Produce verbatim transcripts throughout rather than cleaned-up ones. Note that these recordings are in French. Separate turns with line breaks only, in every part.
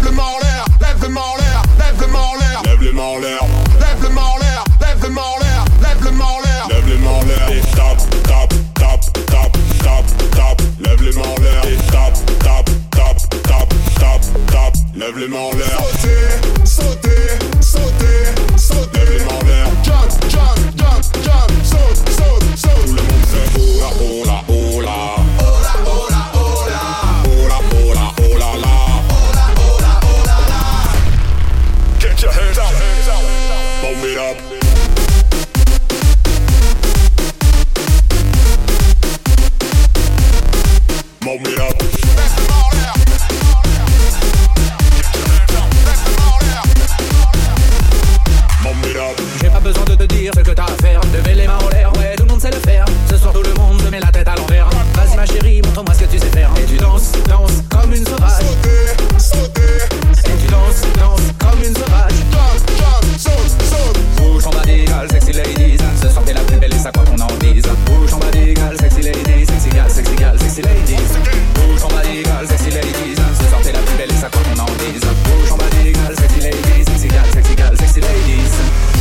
lève le main en l'air, lève le main en l'air, lève le main en l'air, lève le main en l'air, lève le main en l'air, lève le main en l'air, lève le main en l'air, lève les mains en l'air et tape, tape, tape, tape, tape, tape, lève les mains en l'air et tape, tape, tape, tape, tape, tape, lève les mains en l'air. Sauter, sauter, sauter, sauter, lève les mains en l'air. Jump, jump, jump, jump, saute, saute, saute. Tout le monde fait hola, hola, hola, hola, hola, hola, hola, hola, hola, la, hola, hola, hola, la. Get your hands out, hands out, boom it up. Move it up.
J'ai pas besoin de te dire ce que t'as à faire. Lever les mains en l'air, ouais, tout le monde sait le faire. Ce soir tout le monde se met la tête à l'envers. Vas-y ma chérie, montre-moi ce que tu sais faire. Et tu danses, danses comme une sauvage.
Sauter, sauter.
Et tu danses, danses comme une sauvage.
Jump, jump, saute, saute.
Bouge ton body, girl, sexy ladies. Ce soir t'es la plus belle et ça quoi qu'on en dise. Bouge ton body, girl, sexy ladies. Sexy girl, sexy girl, sexy ladies. Bouge ton body, girl, sexy ladies. Ce soir t'es la plus belle et ça quoi qu'on en dise. Bouge ton body, girl, sexy ladies. Sexy girl, sexy girl, sexy ladies.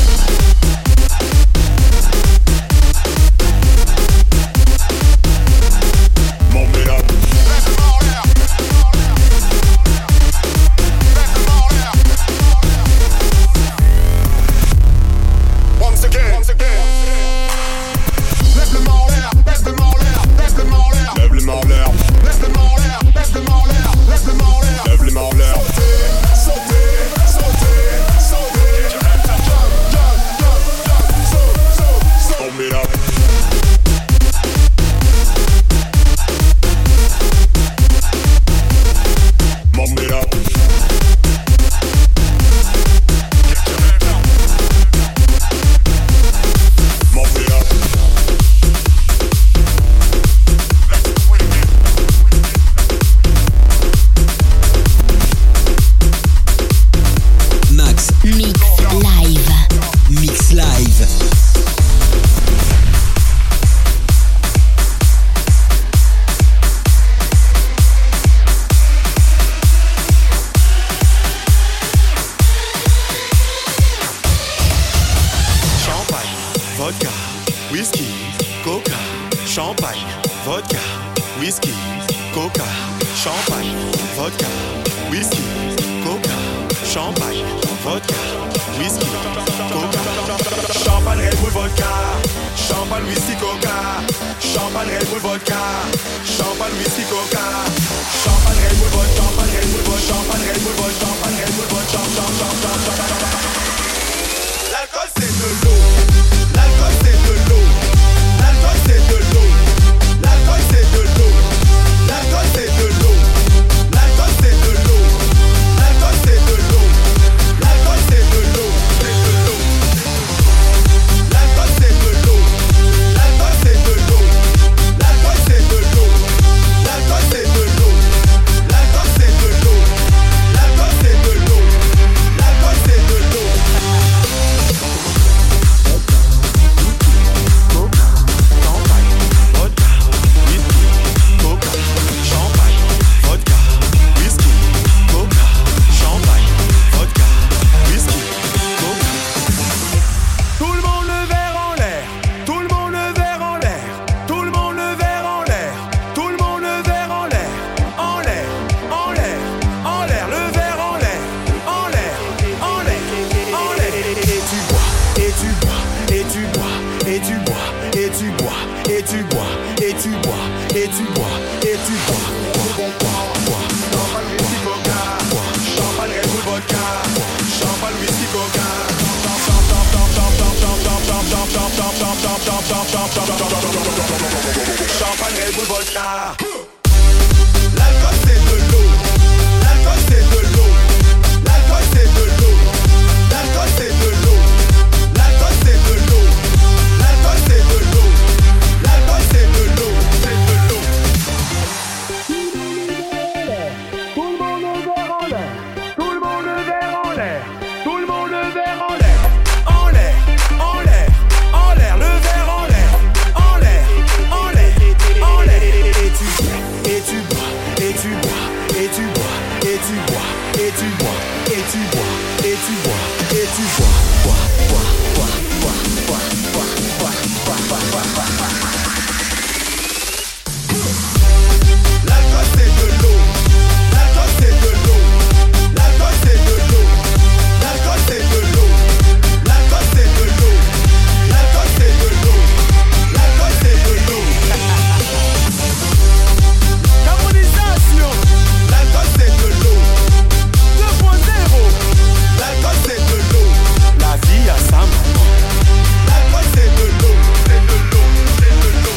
Champagne, Red Bull, vodka. L'alcool c'est de l'eau. L'alcool c'est de l'eau. L'alcool c'est de l'eau. L'alcool c'est de l'eau. L'alcool c'est de l'eau. L'alcool c'est de l'eau. L'alcool c'est de l'eau. C'est de l'eau.
Tout le monde le verre en l'air. Tout le monde le verre en l'air. Tout le monde le verre en l'air. En l'air, en l'air, en l'air, le verre en l'air. En l'air, en l'air, en l'air. Et tu
et tu bois, et tu bois, et tu bois, et tu bois, bois, bois, bois, bois, bois, bois, bois, bois, bois, bois, bois, bois. L'alcool c'est de l'eau, l'alcool c'est de l'eau, l'alcool c'est de l'eau, l'alcool c'est de l'eau, l'alcool c'est de l'eau, l'alcool c'est de l'eau, l'alcool c'est de l'eau. Harmonisation, l'alcool c'est de l'eau, deux point zéro, l'alcool c'est de l'eau, la vie à sa maman. L'alcool c'est de l'eau, c'est de l'eau, c'est de l'eau.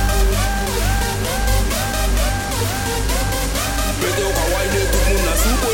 Météo, Hawaii, tout le monde a soupé.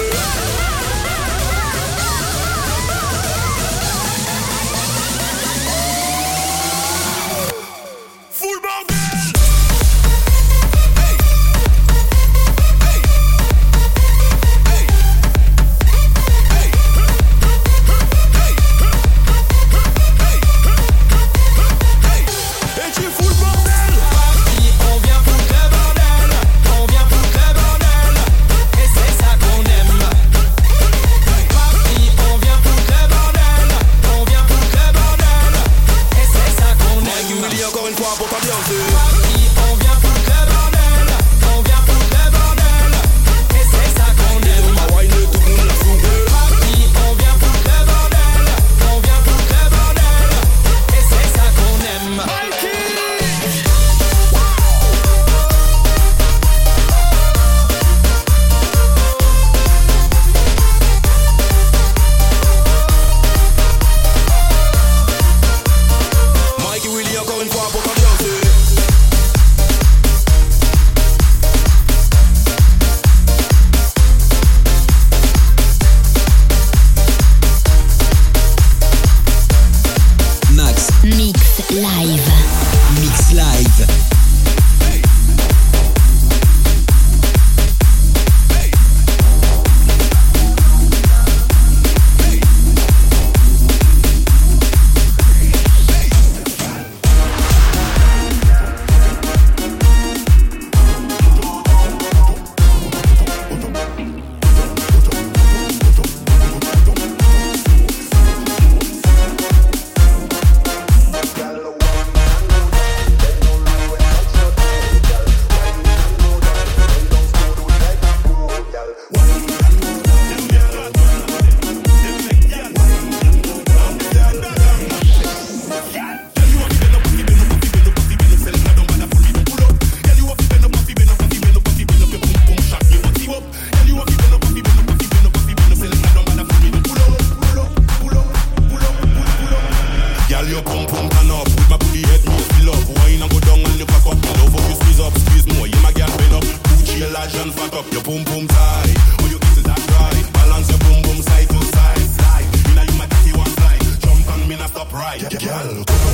right. Oh, you get that right. Balance your boom boom side to side. Slide. You know you might take one slide. Jump on me, not stop right. Girl, go down.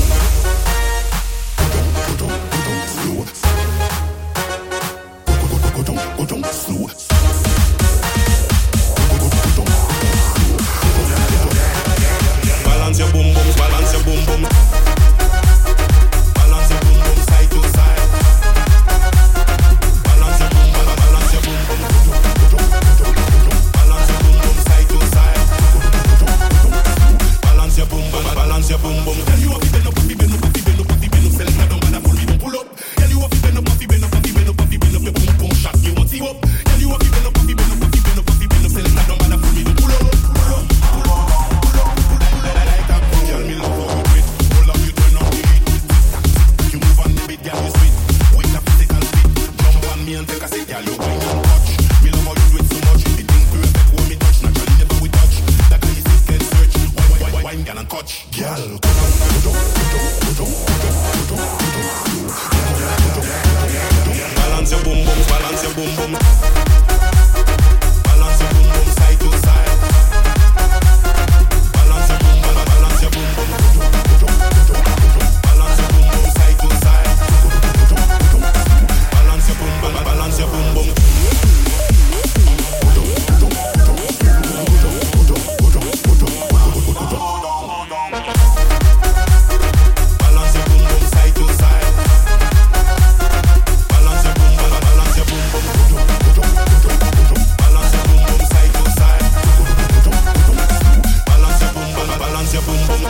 Go down, go down, slow. Go down, go down, slow. Balance your boom boom, balance your boom boom. Balance your boom boom side to side. Balance your boom, balance your boom boom. Balance your boom boom side to side. Balance your boom, balance your boom boom. Tell you what, bend up, bend up, bend up, bend up, bend up. Sell it down, bend up, pull me, don't pull up. Tell you what, bend up, bend up, bend up, bend up, bend up. Your boom boom shot, you want see up. Tell you what, bend up, bend up, bend up, bend up, bend up. Sell it down, bend up, pull me, don't pull up. Me and take a sit, girl, you wine and touch. Me love how you do it so much. The thing perfect when me touch. Naturally never we touch. That can you sit, can search. Wine, wine, wine, wine, girl, and touch. Girl, go down, go down, go down, go down, go down, go down. Balance your boom boom, balance your boom boom. Balance your boom boom side to side. Balance your boom, balance your boom boom. Balance your boom boom side to side. Balance your boom boom, balance your boom boom. Balance your boom boom side to side. Balance your boom, balance your boom boom. Balance your boom boom side to side. Balance your boom, balance your boom boom.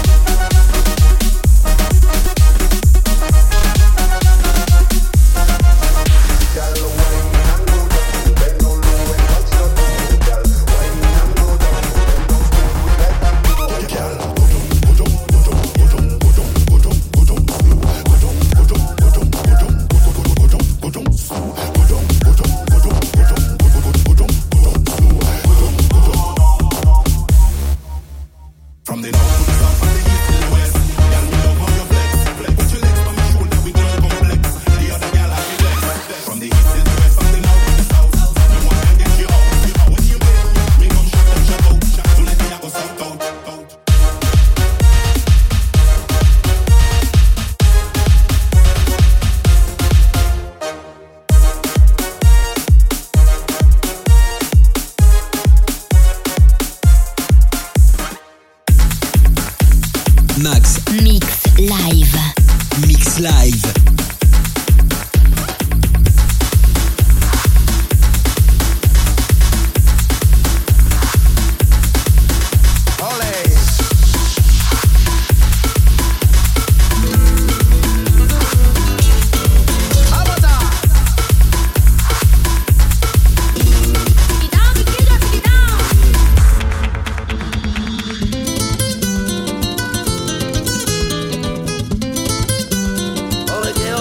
Max
Mix Live.
Mix Live.
All again.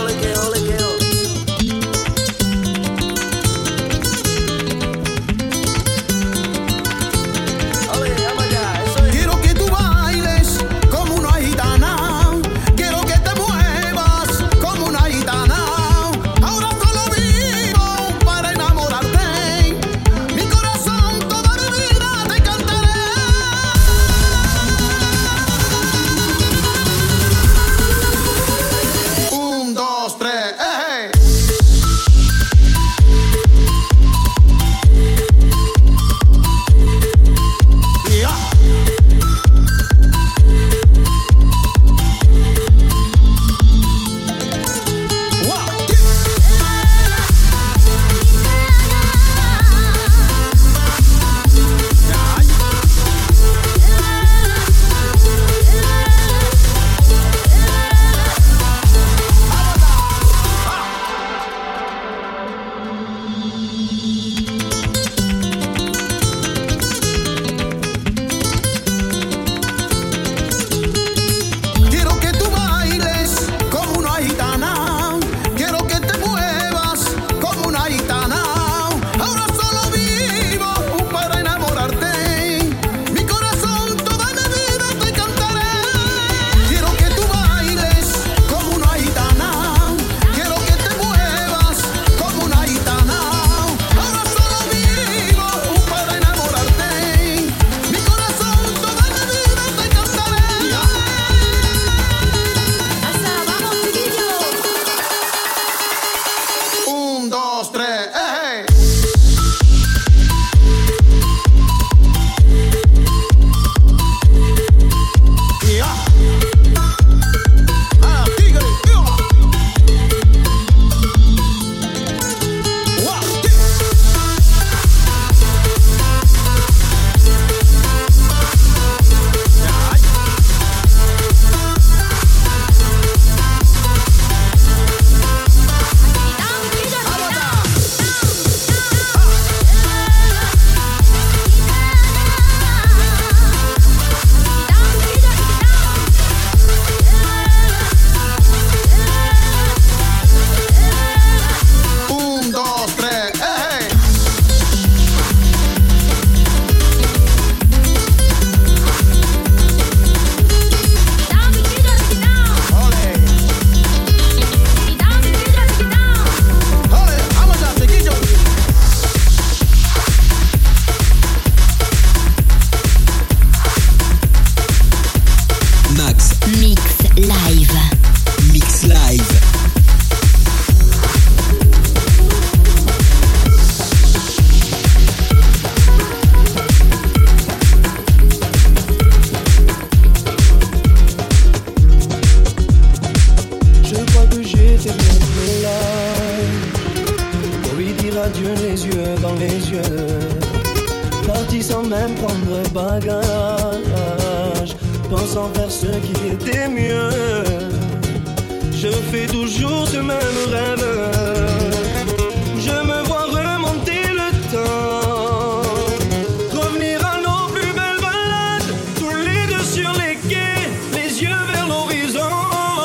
yeux. Parti sans même prendre bagage, pensant faire ce qui était mieux. Je fais toujours ce même rêve. Je me vois remonter le temps, revenir à nos plus belles balades, tous les deux sur les quais, les yeux vers l'horizon.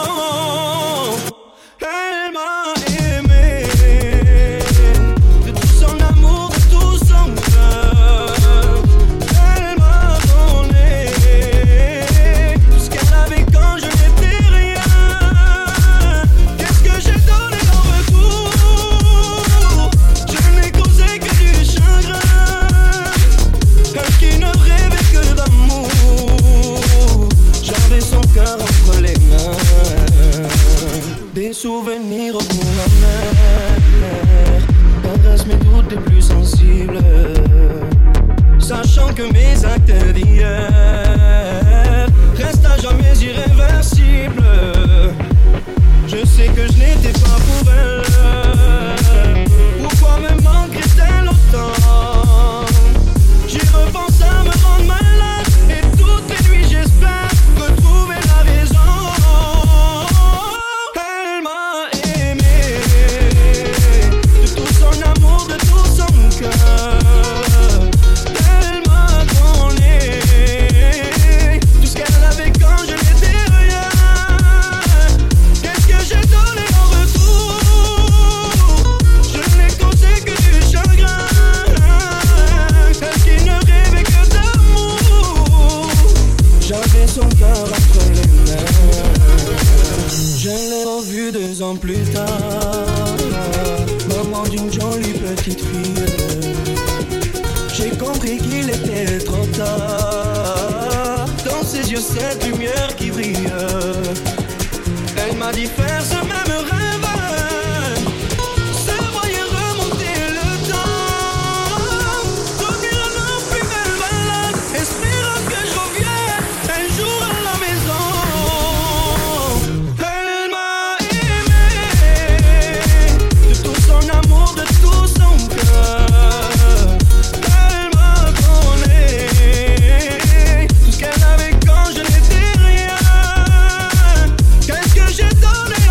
Elle m'a aimé, de tout son amour, de tout son cœur. Elle m'a donné tout ce qu'elle avait quand je n'étais rien. Qu'est-ce que j'ai donné en retour? Je n'ai causé que du chagrin. Elle qui ne rêvait que d'amour. J'avais son cœur entre les mains. Des souvenirs au bout amers caressent mes doutes les plus sensibles, sachant que mes actes d'hier restent à jamais irréversibles. Je sais que je n'étais pas pour elle. Pourquoi me manquerait-elle autant? J'y repense à me rendre malade, et toutes les nuits j'espère retrouver la raison. Elle m'a aimé, de tout son amour, de tout son cœur. Elle m'a donné tout ce qu'elle avait quand je n'étais rien. Qu'est-ce que j'ai donné en retour? Je n'ai causé que du chagrin. Elle qui ne rêvait que d'amour. J'avais son cœur entre les mains. Je l'ai revue deux ans plus tard, maman d'une jolie petite fille. J'ai compris qu'il était trop tard. Dans ses yeux cette lumière qui brille. Elle m'a dit faire ce même rêve, se voyait remonter le temps, revenir à nos plus belles balades, espérant que je revienne un jour à la maison. Elle m'a aimé, de tout son amour, de tout son cœur. Elle m'a donné tout ce qu'elle avait quand je n'étais rien. Qu'est-ce que j'ai donné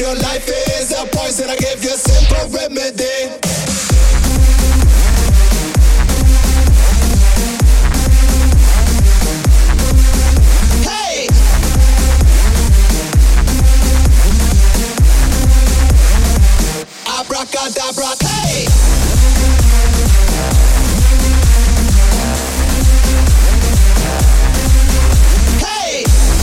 your life is a poison, I give you a simple remedy. Hey! Abracadabra, hey! Hey!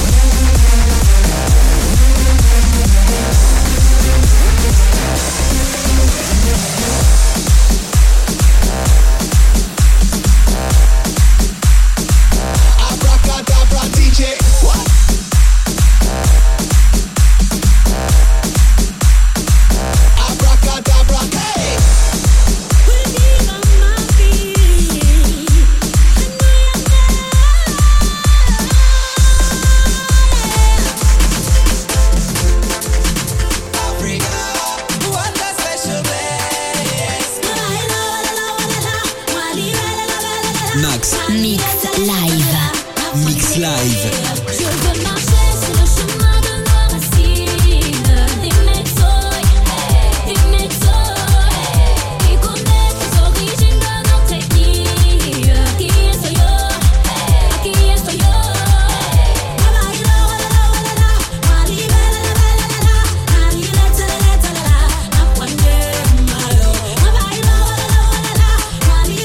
Abracadabra, D J, what? Abracadabra, hey!
Put it on my feet.
Africa, what a special place.
Max,
Mix live.
Mix live.
Je veux marcher sur le chemin de nos racines. Des méthodes, des méthodes. Et connaître les origines de notre ethnie. Qui est yo? Qui est yo?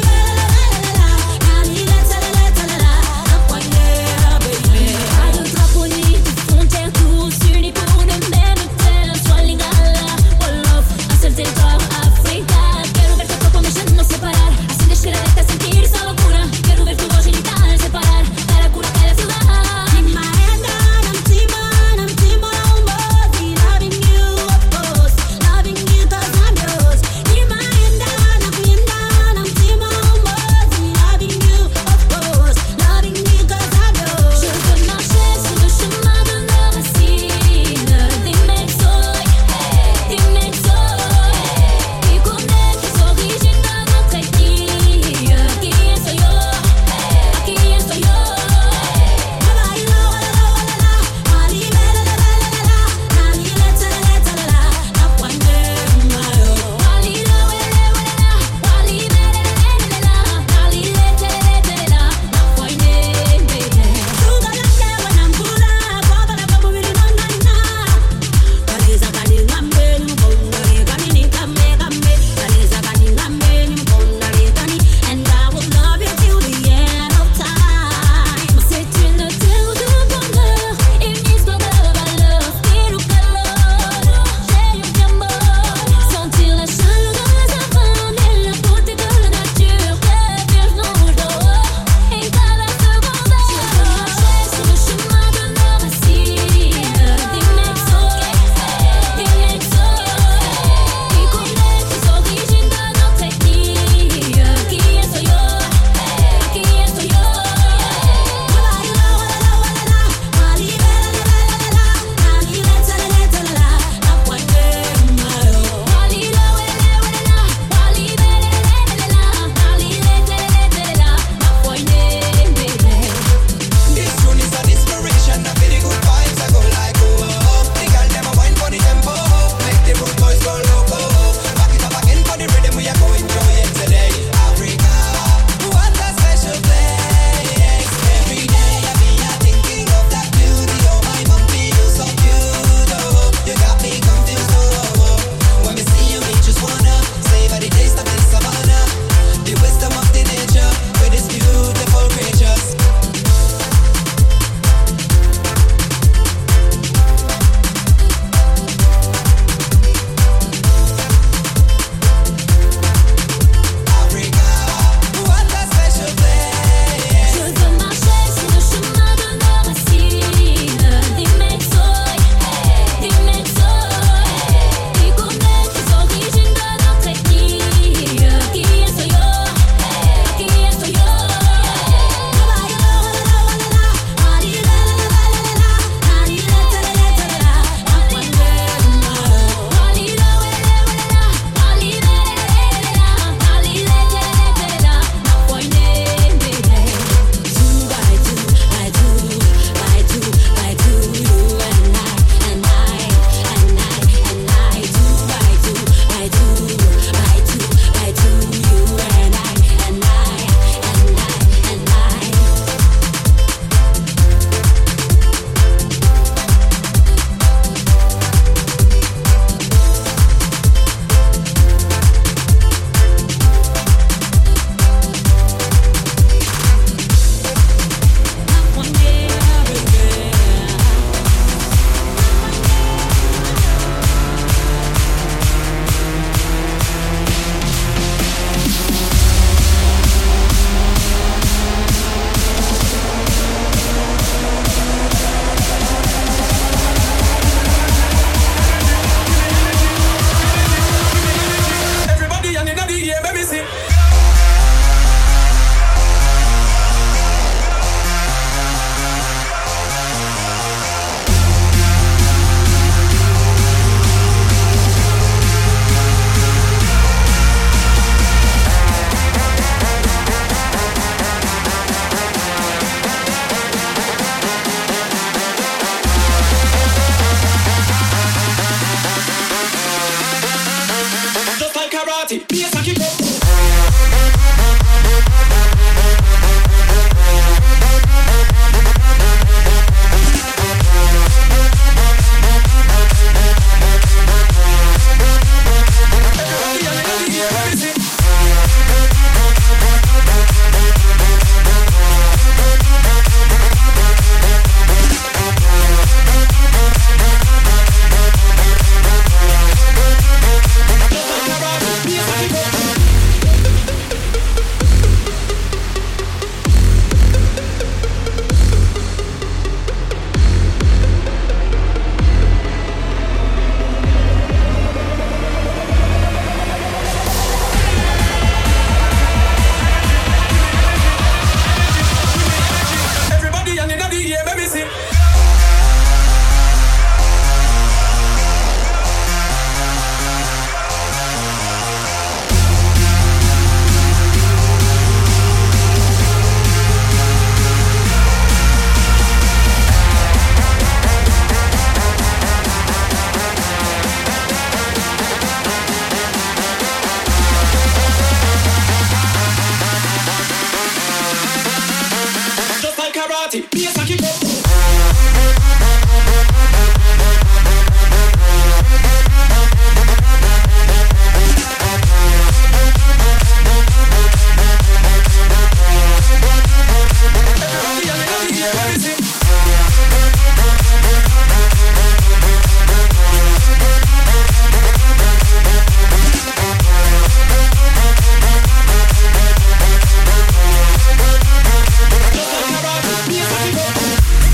Pas de drapeau
Music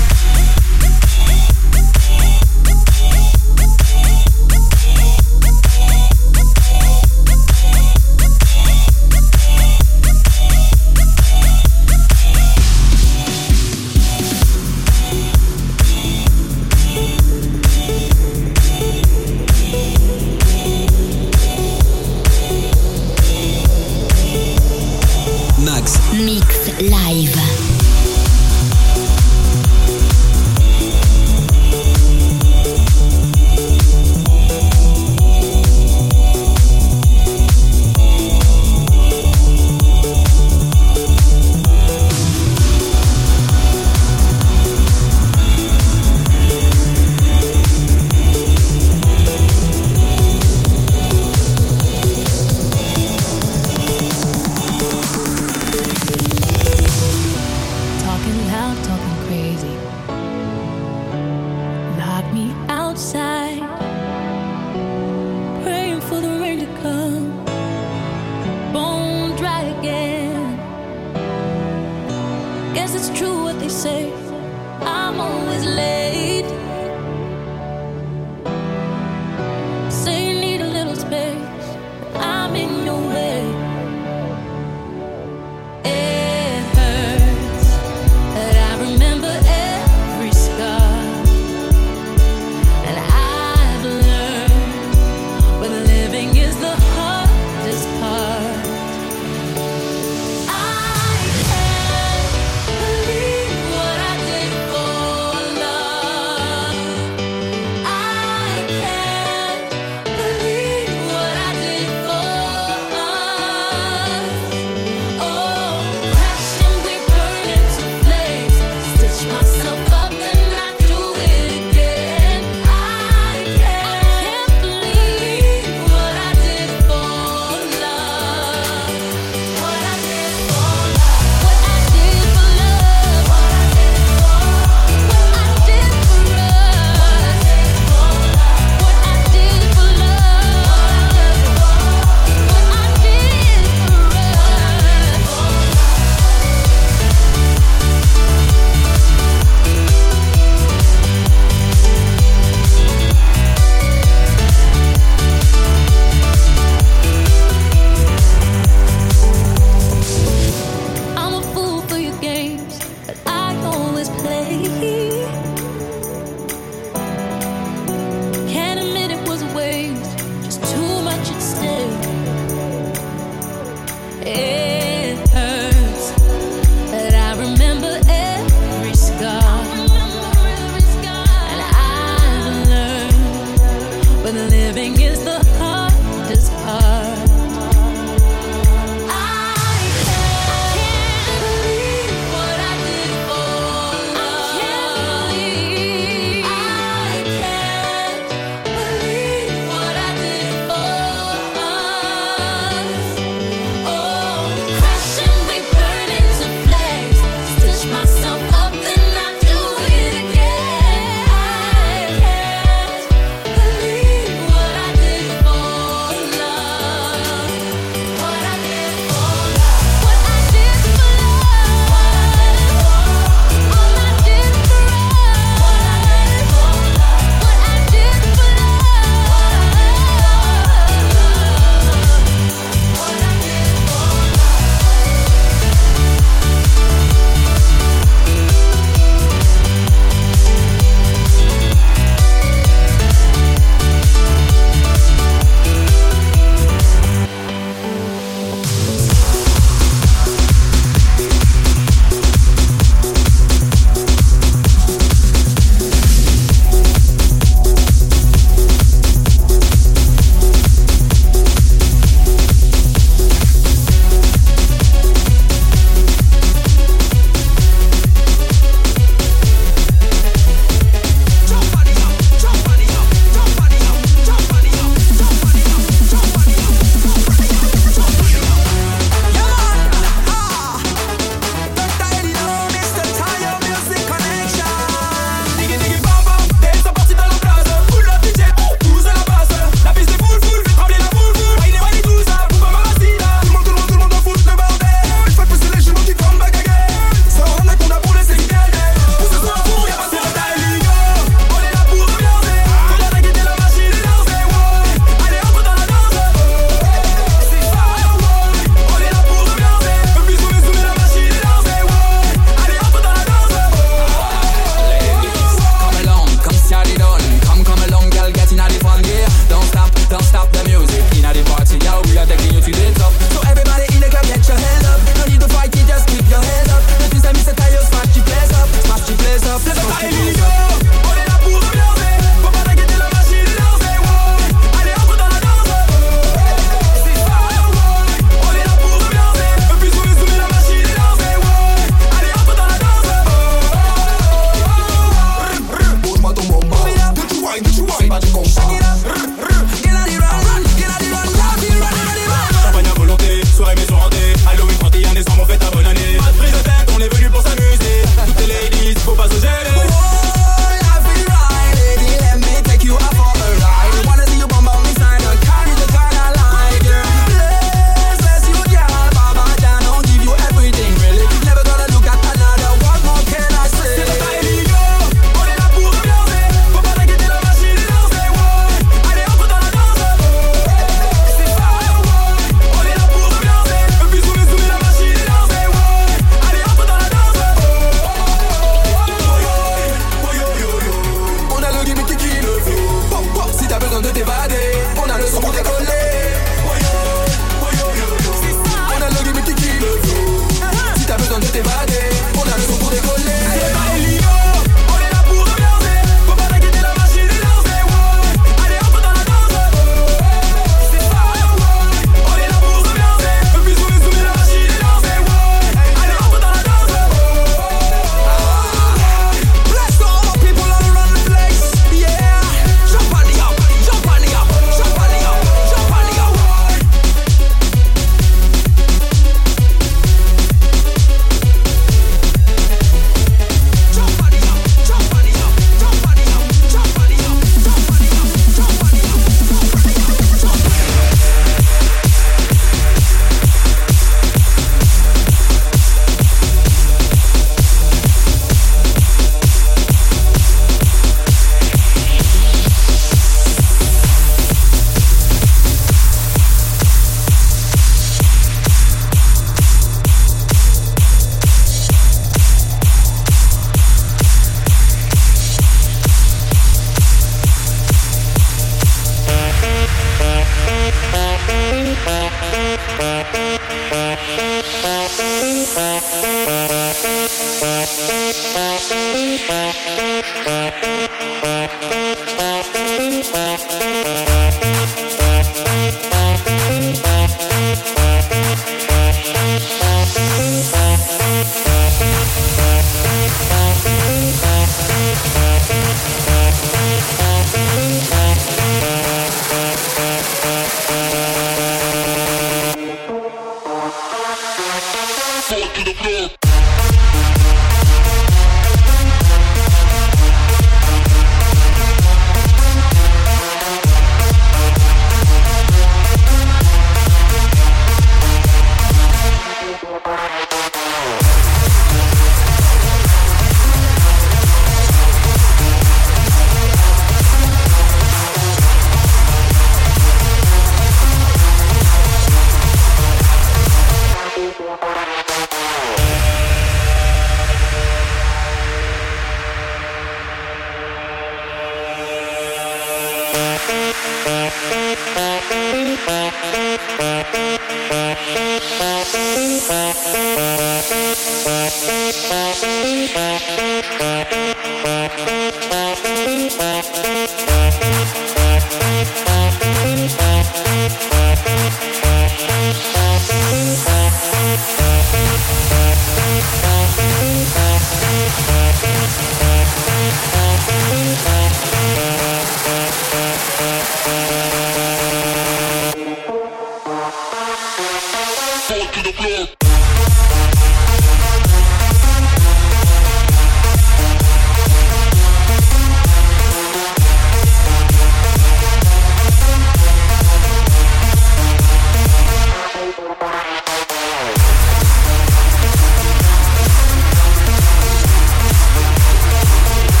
Fall to the floor.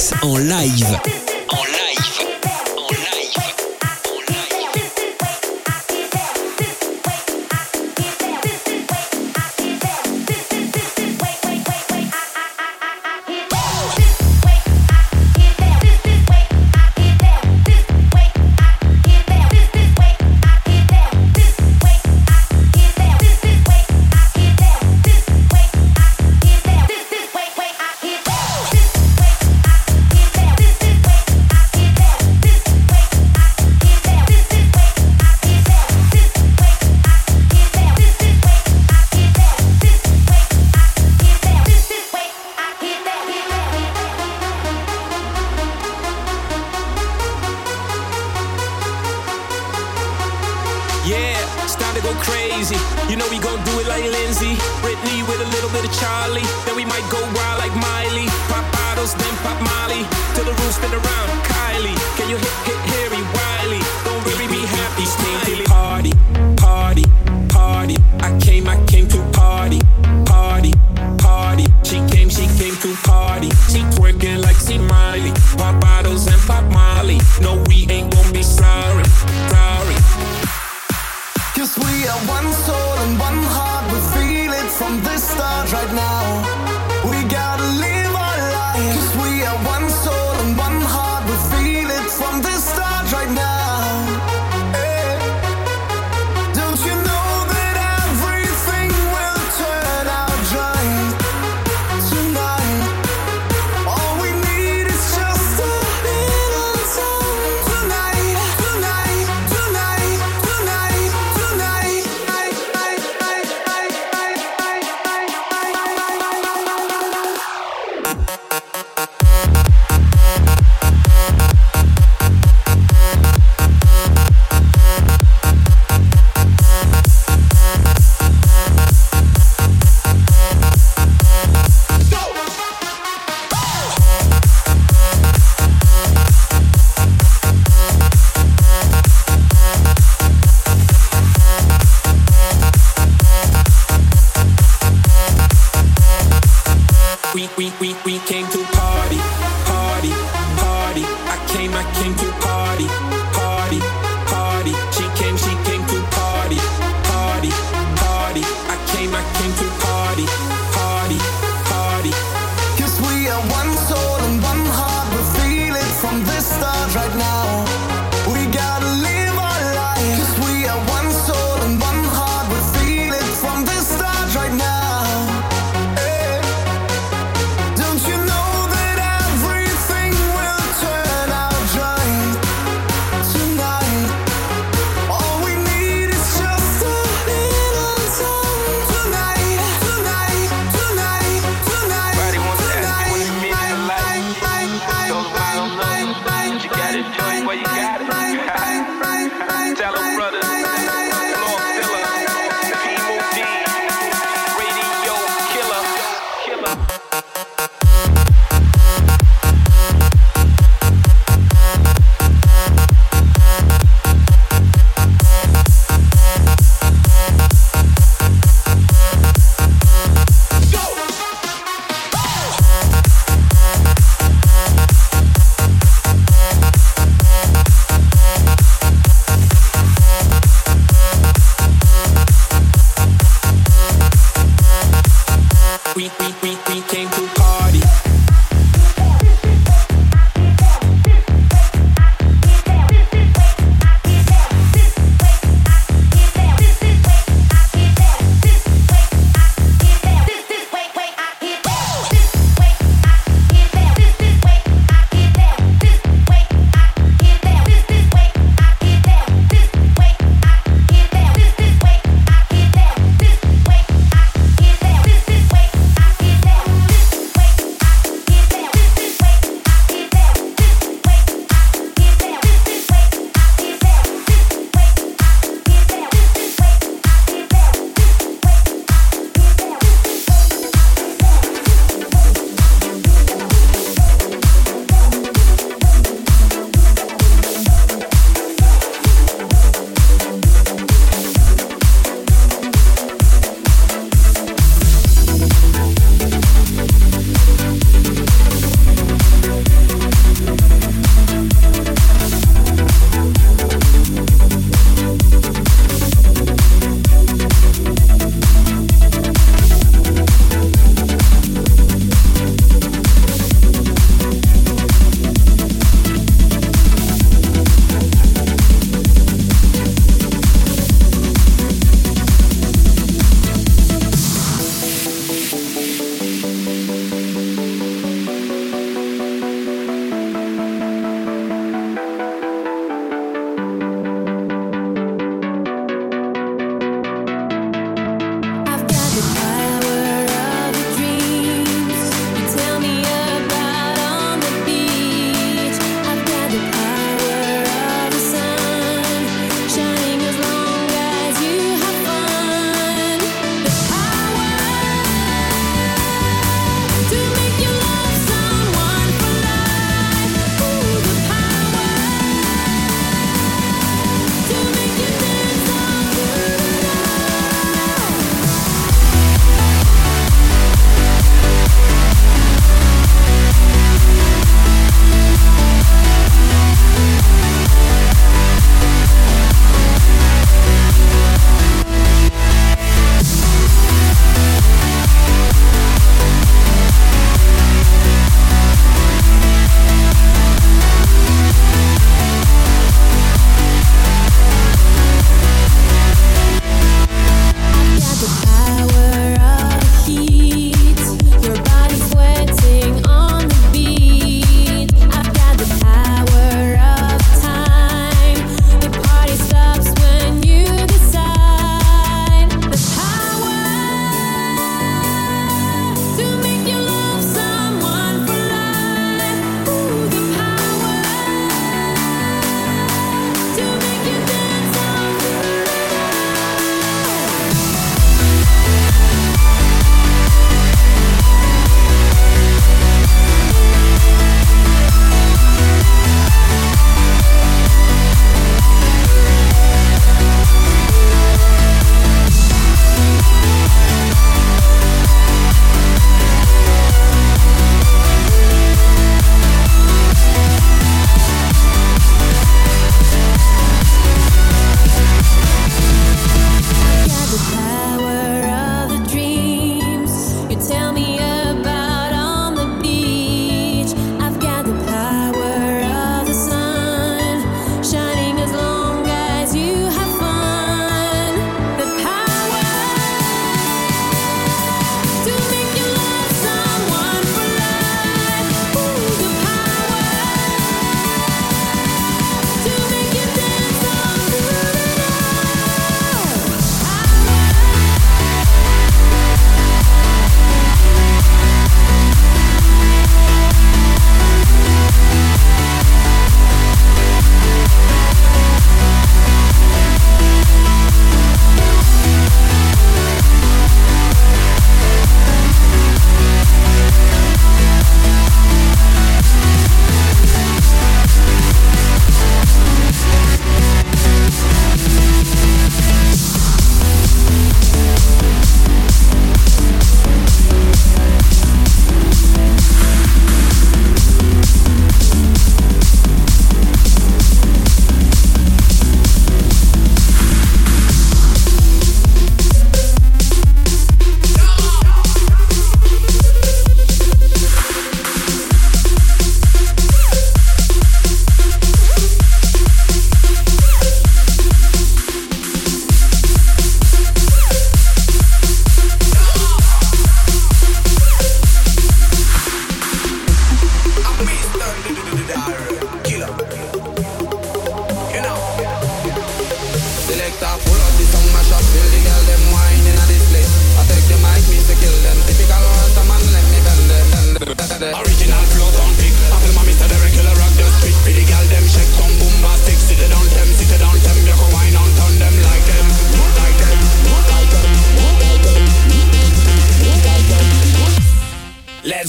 Max en live.
En live. En live. En live.
Yeah, it's time to go crazy. You know we gon' do it like Lindsay, Britney with a little bit of Charlie. Then we might go wild like Miley. Pop bottles, then pop Molly. Till the room spin around. Kylie, can you hit, hit, Harry, Wiley? Don't really be happy, smiley. Party, party, party. I came, I came to party, party, party. She came, she came to party. She twerking like she Miley. Pop bottles and pop Molly. No, we ain't gon' be sorry, sorry.
Cause we are one soul and one heart. We feel it from the start right now. We gotta live our life. Cause we are one soul and one heart. We feel it from the start right now. Hey. Don't you know that everything will turn out right tonight? All we need is just a little time. Tonight, tonight, tonight, tonight, tonight. I, I, I, I, I, I, I,
We, we, we, we came to party, party, party. I came, I came to party, party, party. She came, she came to party, party, party. I came, I came to party, party, party.
Cause we are one soul and one heart. We feel it from the start right now. We gotta live our life. Cause we are one soul and one heart. We feel it from the start right now. Hey. Don't you know that everything will turn out right tonight? All we need is just a little time. Tonight, tonight, tonight,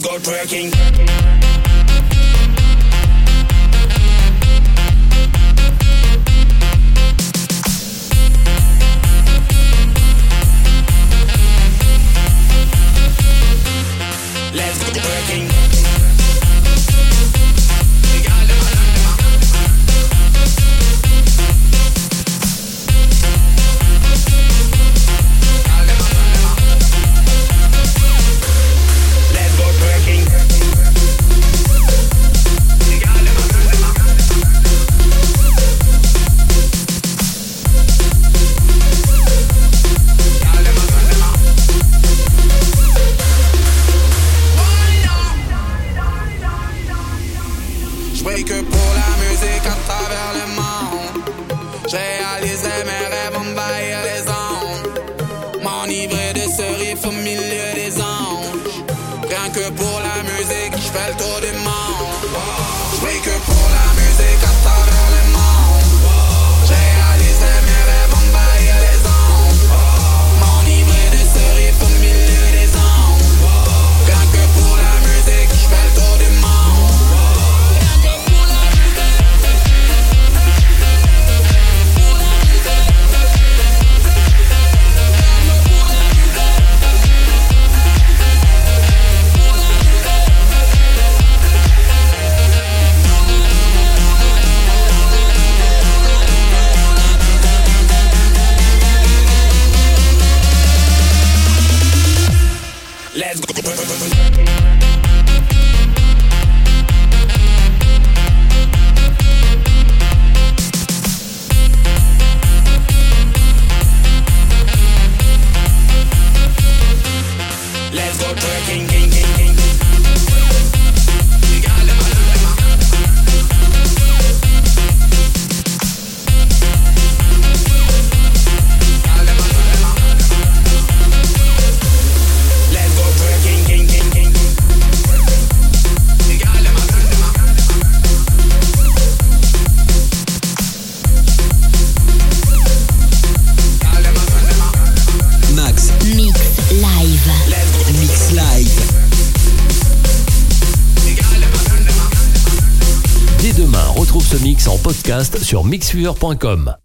go twerking. Let's go twerking. Let's go twerking. Je brille que pour la musique à travers le monde. Je réalisais mes rêves envahir les ondes. M'enivrer de ce riff au milieu des anges. Rien que pour la musique, je fais le tour du monde. Je brille que pour la musique à travers le monde. Je réalisais mes rêves envahir les ondes. M'enivrer de ce riff au milieu des anges. Rien que pour la musique, je fais le tour du monde. Let's go. Let's go twerking, king, king, king. Let's go twerking, king, king, king.
Max.
Mix live.
Mix Live.
Dès demain, retrouve ce mix en podcast sur mixfever point com.